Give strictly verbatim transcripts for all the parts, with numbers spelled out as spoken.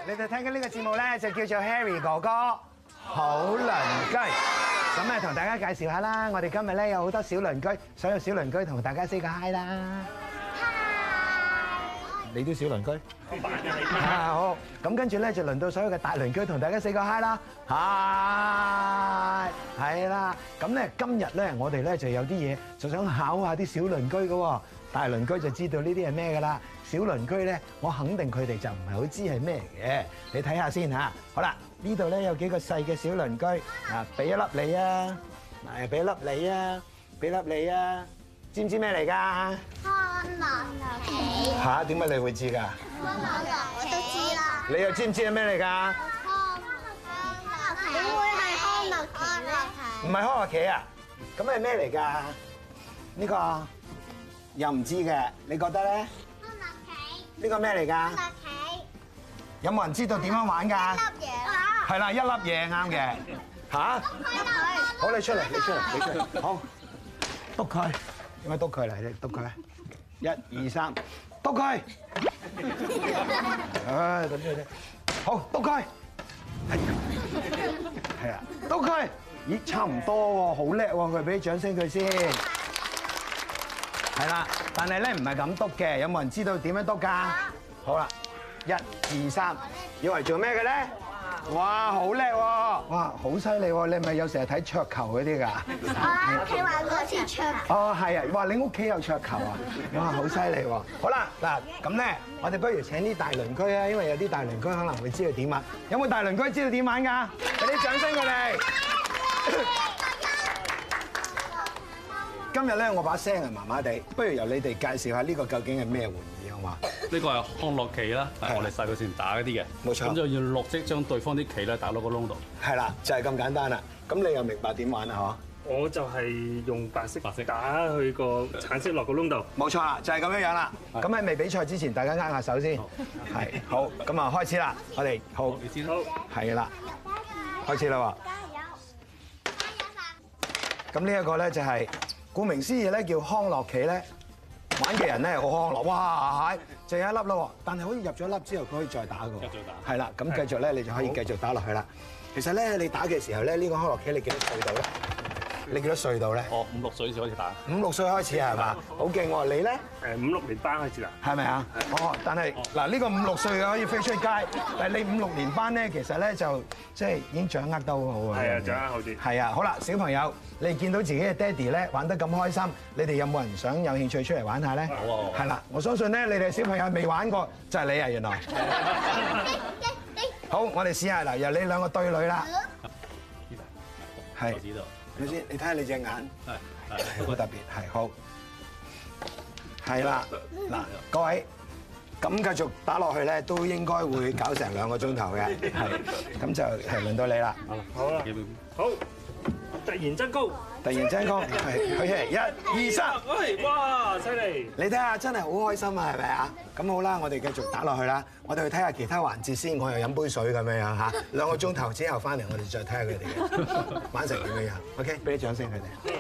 你哋聽緊呢個節目咧，就叫做 Harry 哥哥好鄰居。咁啊，同大家介紹下啦。我哋今日咧有好多小鄰居，所有小鄰居同大家 say 個 hi 啦。你都小鄰居？啊好，咁跟住咧就輪到所有嘅大鄰居同大家 say 個 hi 啦。hi，係啦。咁咧今日咧我哋咧就有啲嘢就想考下啲小鄰居嘅喎。大鄰居就知道呢啲係咩㗎啦。小鄰居咧，我肯定佢哋就唔係好知係咩嘅。你睇下先嚇。好啦，呢度咧有幾個細嘅小鄰居，啊，俾一粒你啊，誒，俾一粒你啊，俾粒你啊，知唔知咩嚟㗎？ 康樂棋嚇？點解你會知㗎？ 康樂我都知啦。 你又知唔知係咩嚟㗎？ 康樂棋點會係康樂棋咧？ 唔係康樂棋啊？咁係咩嚟㗎？呢個又唔知嘅，你覺得咧？ 康樂棋呢個咩嚟㗎？ 康樂棋有冇人知道點樣玩㗎？ 粒嘢係啦，一粒嘢啱嘅。嚇？好，你出嚟，你出嚟，你出嚟。好，篤佢，點解篤佢嚟？你篤佢。一二三，篤佢。唉，咁樣啫。好，篤佢。係啊，篤佢。咦，差唔多喎，好叻喎，佢俾啲掌聲佢先。係啦，但係咧唔係咁篤嘅，有冇人知道點樣篤㗎？好啦，一二三，以為做咩嘅咧？哇，好叻喎！哇，好犀利喎！你係咪有成日睇桌球嗰啲㗎？ 我喺屋企玩過次桌球。 哦，係啊！哇，你屋企有桌球啊？哇，好犀利喎！好啦，嗱咁咧，我哋不如請啲大鄰居啊，因為有啲大鄰居可能會知道點玩。有冇大鄰居知道點玩㗎？俾啲掌聲佢哋。今日咧，我把聲係麻麻地，不如由你哋介紹下呢個究竟係咩玩意好嘛？ 呢個係康樂棋啦，係我哋細個時打嗰啲嘅。 冇錯。 咁就要落即將對方啲棋咧打到個窿度。 係啦，就係咁簡單啦。咁你又明白點玩啊？ 我就係用白色白色打去個橙色落個窿度。 冇錯啦，就係咁樣樣啦。咁喺未比賽之前，大家握下手先。係好，咁啊開始啦。我哋好， 你先好， 係啦，開始啦喎。 加油！加油飯！ 咁呢一個咧就係顧名思義咧叫康樂棋咧，玩嘅人咧好康樂，哇係，就有一粒啦喎。但係好似入咗一粒之後，佢可以再打㗎喎。 繼續打。 係啦，咁繼續咧你就可以繼續打落去啦。其實咧你打嘅時候咧，呢個康樂棋你幾多歲到咧？你幾多歲到咧？ 哦，五六歲先開始打。 五六歲開始係嘛？好勁喎！你咧？ 誒五六年班開始啦。 係咪啊？哦，但係嗱呢個五六歲嘅可以飛出街，但係你五六年班咧，其實咧就即係已經掌握得好好啊。 係啊，掌握好啲。 係啊，好啦，小朋友，你哋見到自己嘅爹哋咧玩得咁開心，你哋有冇人想有興趣出嚟玩下咧？ 好啊！ 係啦，我相信咧，你哋小朋友未玩過，就係你啊，原來。好，我哋試下嗱，由你兩個對壘啦。係。 我知道。 睇先，你睇下你隻眼。 係係。 好特別，係好。係啦，嗱，各位，咁繼續打落去咧，都應該會搞成兩個鐘頭嘅，係，咁就係輪到你啦。 好啦，好，突然增高， 突然增高，係，好嘅，一、二、三， 喂，哇，犀利！ 你睇下，真係好開心啊，係咪啊？咁好啦，我哋繼續打落去啦。我哋去睇下其他環節先，我又飲杯水咁樣樣嚇。兩個鐘頭之後翻嚟，我哋再睇下佢哋嘅玩成點樣樣。OK，俾啲掌聲佢哋。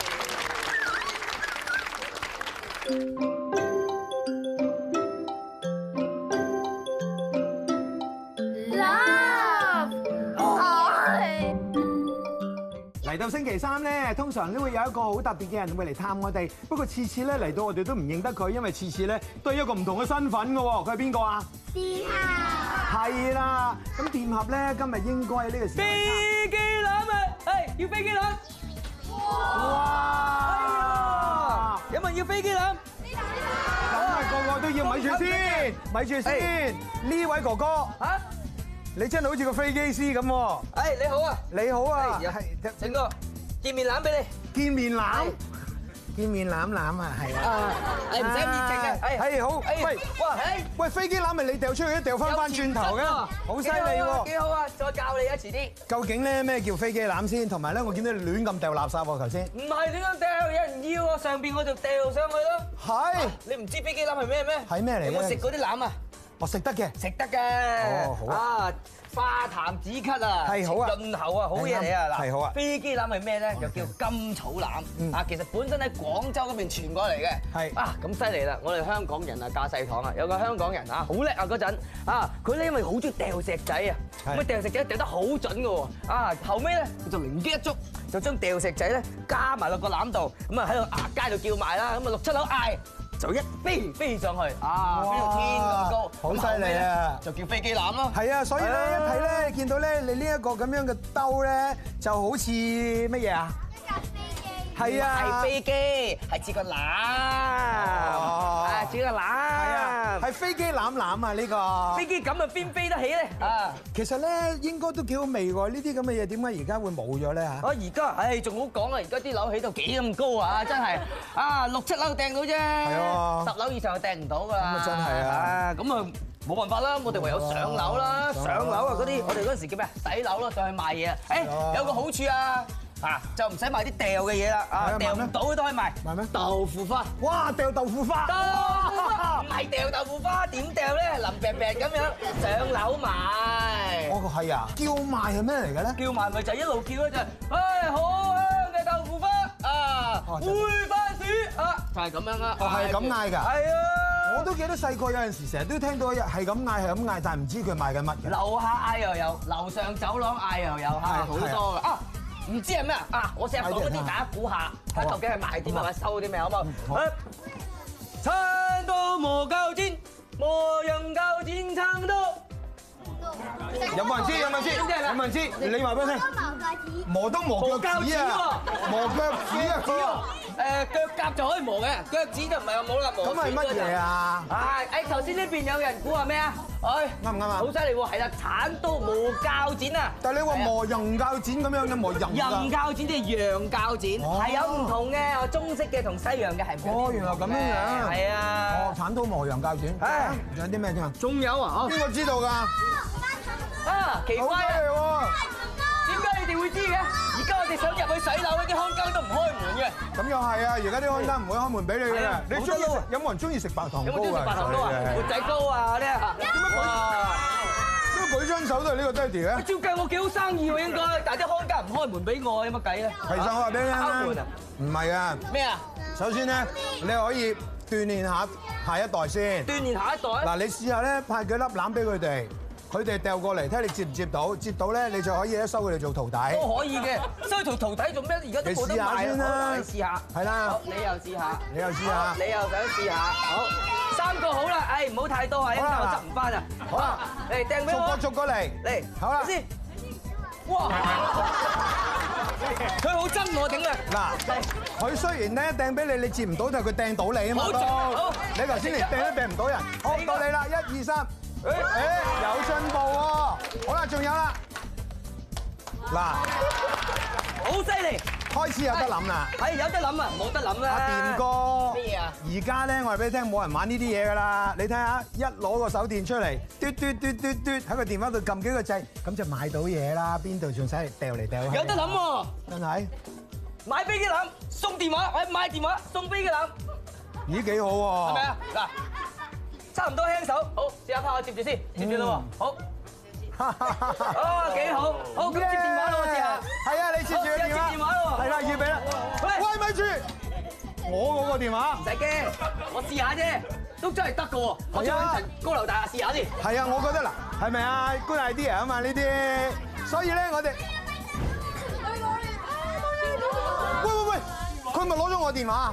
嚟到星期三咧，通常都會有一個好特別嘅人會嚟探我哋。不過次次咧嚟到我哋都唔認得佢，因為次次咧都係一個唔同嘅身份嘅喎。佢係邊個啊？ 電俠係啦。咁電俠咧今日應該喺呢個時候飛機欖啊！係要飛機欖。 哇！ 有冇人要飛機欖？ 咁啊，個個都要，咪住先，咪住先。呢位哥哥嚇？ 你真係好似個飛機師咁喎。 誒你好啊！ 你好啊， 係整個見面欖俾你。 見面欖，見面攬攬啊，係啊。 啊，誒唔使咁熱情嘅。 係好。喂， 哇，誒喂，飛機欖咪你掉出去，掉翻翻轉頭嘅，好犀利喎。 幾好啊！再教你啊，遲啲。 究竟咧咩叫飛機欖先？同埋咧，我見到你亂咁掉垃圾喎，頭先。 唔係亂咁掉，有人要啊，上邊我就掉上去咯。 係。 你唔知飛機欖係咩咩？ 係咩嚟嘅？ 有冇食嗰啲欖啊？ 我食得嘅， 食得嘅。 哦好啊。 化痰止咳啊， 係好啊潤喉啊，好嘢嚟啊！嗱， 係好啊飛機欖係咩咧？就叫甘草欖啊，其實本身喺廣州嗰邊傳過嚟嘅。 係啊，咁犀利啦！我哋香港人啊，駕駛堂啊，有個香港人啊，好叻啊嗰陣啊，佢咧因為好中意掉石仔啊，咁啊掉石仔掉得好準嘅喎啊，後尾咧佢就靈機一觸，就將掉石仔咧加埋落個欖度，咁啊喺度崖街度叫賣啦，咁啊六七樓嗌。就一飛飛上去啊！飛到天咁高， 好犀利啊！ 就叫飛機欖咯。 係啊，所以咧一睇咧，見到咧你呢一個咁樣嘅兜咧，就好似乜嘢啊？係啊， 係飛機，係似個欖，啊似個欖，係啊，係飛機欖欖啊呢個。 飛機咁啊邊飛得起咧？啊， 其實咧應該都幾好味喎，呢啲咁嘅嘢點解而家會冇咗咧嚇？ 我而家唉仲好講啊！而家啲樓起到幾咁高啊！真係啊六七樓掟到啫， 係十樓以上就掟唔到㗎啦。 咁啊真係啊！ 咁啊冇辦法啦，我哋唯有上樓啦，上樓啊嗰啲我哋嗰陣時叫咩？洗樓咯，上去賣嘢啊！誒有個好處啊！啊，就唔使買啲掉嘅嘢啦，啊掉唔到都可以賣。賣咩？豆腐花。哇！掉豆腐花。豆腐花唔係掉豆腐花，點掉咧？淋病病咁樣上樓賣。 哦，係啊。叫賣係咩嚟嘅咧？ 叫賣咪就一路叫咧就係，唉好香嘅豆腐花啊，煨番薯啊，就係咁樣啦。 哦，係咁嗌㗎。 係啊。 我都記得細個有陣時成日都聽到係咁嗌係咁嗌，但係唔知佢賣緊乜嘅。 樓下嗌又有，樓上走廊嗌又有，係好多㗎。啊！唔知係咩啊？啊！我成日講嗰啲，大家估下，睇究竟係賣啲乜或收啲咩，好唔好？餐到磨鉸剪，磨人鉸剪撐到。 有冇人知？有冇人知？有冇人知？你話俾我聽。磨刀磨腳趾啊！磨腳趾啊！ 誒腳甲就可以磨嘅，腳趾就唔係話冇啦，磨。 咁係乜嘢啊？ 係誒頭先呢邊有人估係咩啊？誒啱唔啱啊？ 好犀利喎，係啦，鏟刀磨鉸剪啊！ 但係你話磨人鉸剪咁樣嘅磨人人鉸剪即係羊鉸剪，係有唔同嘅，中式嘅同西洋嘅係唔同嘅。 哦，原來咁樣樣。 係啊。 哦，鏟刀磨羊鉸剪。 唉， 仲有啲咩添啊？ 仲有啊？ 邊個知道㗎？ 啊，奇怪啊！ 喎。 點解你哋會知嘅？而家我哋想入去洗樓，啲看更都唔開門嘅。 咁又係啊！而家啲看更唔會開門俾你嘅。你中意食？有冇人中意食白糖糕啊？ 有冇中意食白糖糕啊？活仔糕啊嗰啲啊？點解舉？ 點解舉雙手都係呢個爹哋咧？ 照計我幾好生意喎應該，但係啲看更唔開門俾我，有乜計咧？ 其實我話俾你聽啦，唔係啊。 咩啊？ 首先咧，你可以鍛鍊下下一代先。 鍛鍊下一代。嗱， 你試下咧派幾粒欖俾佢哋。佢哋掉過嚟，睇你接唔接到，接到咧你就可以咧收佢哋做徒弟。 都可以嘅，收佢做徒弟做咩？而家都冇得賣啊！你試下， 係啦。 好，你又試下， 你又試下， 你又想試下，好，三個好啦，誒唔好太多啊，一陣我執唔翻啊。好啦，嚟掟俾我。 逐個逐個嚟， 嚟， 好啦。 先。哇！佢好憎我頂啊！ 嗱，佢雖然咧掟俾你，你接唔到，但係佢掟到你啊嘛都。 好， 你頭先連掟都掟唔到人。好，到你啦，一二三。誒誒，有進步喎！好啦，仲有啦，嗱， 好犀利， 開始有得諗啦， 係有得諗啊，冇得諗啦。 阿掂哥， 咩嘢啊？ 而家咧，我話俾你聽，冇人玩呢啲嘢噶啦。你睇下，一攞個手電出嚟，嘟嘟嘟嘟嘟，喺個電話度撳幾個掣，咁就買到嘢啦。邊度仲使嚟掉嚟掉去？ 有得諗喎， 真係買飛機欖送電話，或者買電話送飛機欖， 咦幾好喎？ 係咪啊？嗱。差唔多輕手，好試下拋我接住先，接住啦喎，好，哦幾好，好咁接電話啦我試下， 係啊你接住個電話， 接電話咯喎， 係啦預備啦，喂咪住，我嗰個電話， 唔使驚，我試下啫，都真係得㗎喎，我再揾層高樓大廈試下先， 係啊我覺得嗱，係咪啊 good idea 啊嘛呢啲，所以咧我哋，喂喂喂，佢咪攞咗我電話？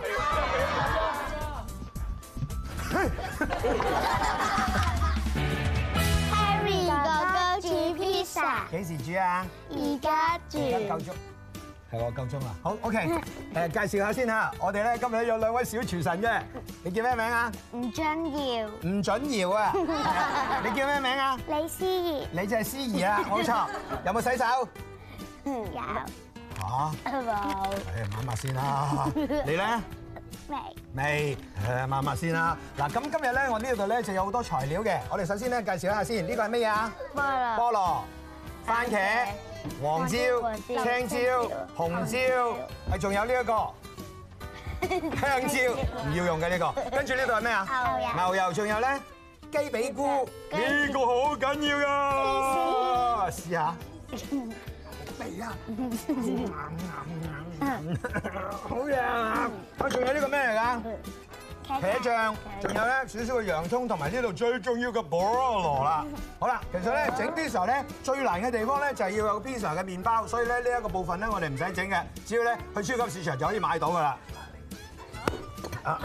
Harry 哥哥煮披薩， 幾時煮啊？ 而家煮。 夠鐘，係我夠鐘啦。好 ，OK，誒介紹下先嚇，我哋咧今日有兩位小廚神嘅，你叫咩名啊？ 吳俊堯。 吳準堯啊，你叫咩名啊？ 李思怡。 你就係思怡啊，冇錯。有冇洗手？ 有。 嚇？ 冇。 誒抹抹先啦。你咧？ 未。 未，誒抹抹先啦。嗱，咁今日咧，我呢度咧就有好多材料嘅。我哋首先咧介紹一下先，呢個係乜嘢啊？ 菠蘿。 菠蘿、番茄、黃椒、青椒、紅椒，係仲有呢一個香蕉，唔要用嘅呢個。跟住呢度係咩啊？ 牛油。 牛油，仲有咧雞雞髀菇，呢個好緊要㗎。試下。嚟啊！好嘢啊！啊，仲有呢個咩嚟㗎？茄醬，仲有咧少少嘅洋葱，同埋呢度最重要嘅菠蘿啦。好啦，其實咧整 pizza 咧最難嘅地方咧就係要有 pizza 嘅麵包，所以咧呢一個部分咧我哋唔使整嘅，只要咧去超級市場就可以買到㗎啦。啦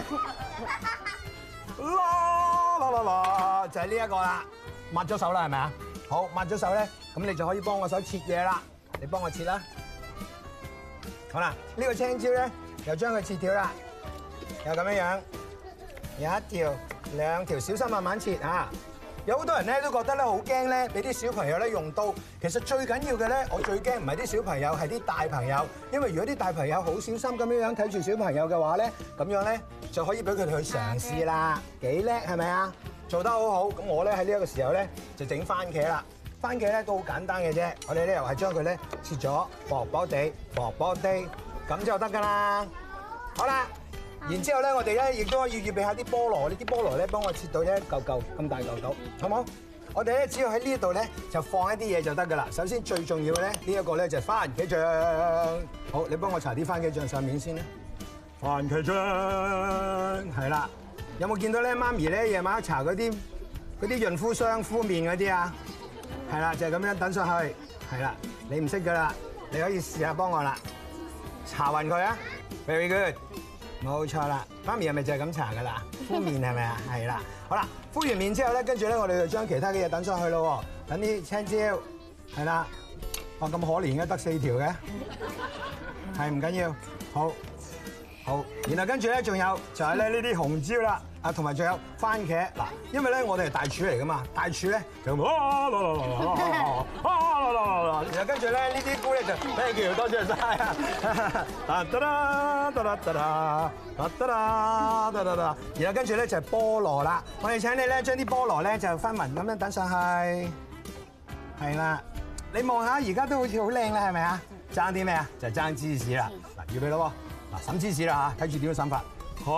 啦啦啦，就係呢一個啦，抹咗手啦係咪啊？好，抹咗手咧，咁你就可以幫我手切嘢啦。你幫我切啦。好啦，呢個青椒咧又將佢切條啦。又咁樣樣，有一條、兩條，小心慢慢切嚇。有好多人咧都覺得咧好驚咧，俾啲小朋友咧用刀。其實最緊要嘅咧，我最驚唔係啲小朋友，係啲大朋友。因為如果啲大朋友好小心咁樣樣睇住小朋友嘅話咧，咁樣咧就可以俾佢哋去嘗試啦。幾叻係咪啊？做得好好。咁我咧喺呢一個時候咧就整番茄啦。番茄咧都好簡單嘅啫，我哋咧又係將佢咧切咗薄薄地、薄薄地，咁就得㗎啦。好啦。然之後咧，我哋咧亦都可以預備下啲菠蘿，呢啲菠蘿咧幫我切到一嚿嚿咁大嚿嚿，好冇？我哋咧只要喺呢度咧就放一啲嘢就得㗎啦。首先最重要嘅咧，呢一個咧就係番茄醬。好，你幫我搽啲番茄醬上面先啦。番茄醬係啦，有冇見到咧？媽咪咧夜晚搽嗰啲嗰啲潤膚霜敷面嗰啲啊？係啦，就係咁樣等上去。係啦，你唔識㗎啦，你可以試下幫我啦，搽勻佢啊 ，very good。冇錯啦，媽咪係咪就係咁搽噶啦？敷面係咪啊？係啦，好啦，敷完面之後咧，跟住咧我哋就將其他嘅嘢等上去咯。等啲青椒，係啦，哇咁可憐嘅，得四條嘅，係唔緊要，好，好，然後跟住咧仲有就係咧呢啲紅椒啦，啊同埋仲有番茄嗱，因為咧我哋係大廚嚟噶嘛，大廚咧就啊啦啦啦啦啊啦啦啦，然後跟住咧呢啲菇咧就 thank you 多謝晒啊，啊得啦得啦得啦啊得啦得啦得啦，然後跟住咧就係菠蘿啦，我哋請你咧將啲菠蘿咧就分勻咁樣等上去，係啦，你望下而家都好似好靚啦，係咪啊？爭啲咩啊？就係爭芝士啦，嗱預備咯喎，嗱揼芝士啦嚇，睇住點樣揼法。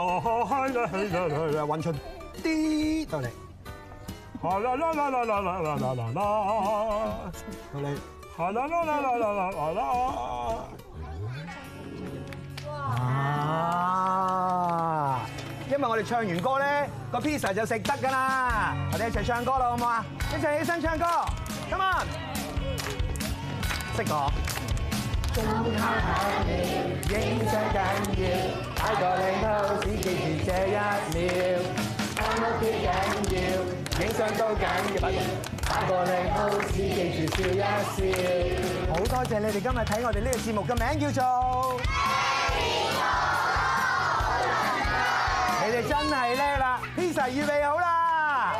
揾出啲到嚟，啦啦啦啦啦啦啦啦啦啦，到嚟，啦啦啦啦啦啦啦啦，啊！因為我哋唱完歌咧，個 pizza 就食得㗎啦。我哋一齊唱歌啦，好唔好啊？一齊起身唱歌 ，come on！ 識我。中烤巧妙，影相緊要，擺個靚 pose，記住這一秒。翻屋企緊要，影相都緊要，擺個靚 pose，記住笑一笑。好多謝你哋今日睇我哋呢個節目嘅名叫做。你哋真係叻啦 ，pizza 預備好啦。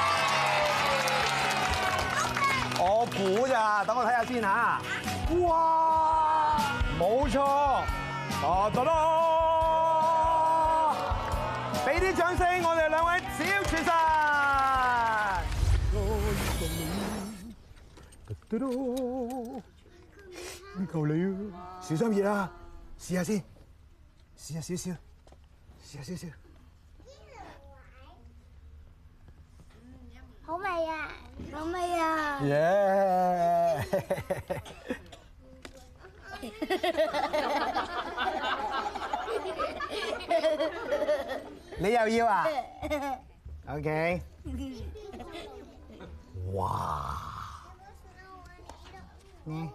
我估咋，等我睇下先嚇。哇！冇錯，得得啦！俾啲掌聲，我哋兩位小廚神。唔夠你啊！小心熱啊！試下先，試下少少，試下少少。 好味啊！好味啊！ 耶！你又要啊 ？OK。哇！嗯。